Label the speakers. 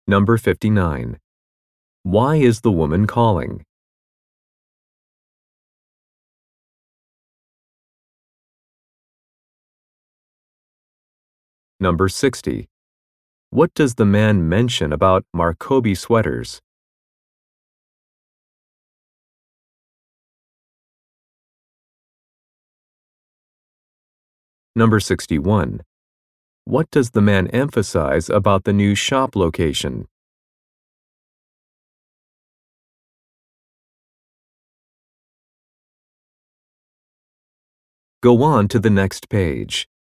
Speaker 1: Number 59. Why is the woman calling? Number 60. What does the man mention about Marcobi sweaters? Number 61. What does the man emphasize about the new shop location? Go on to the next page.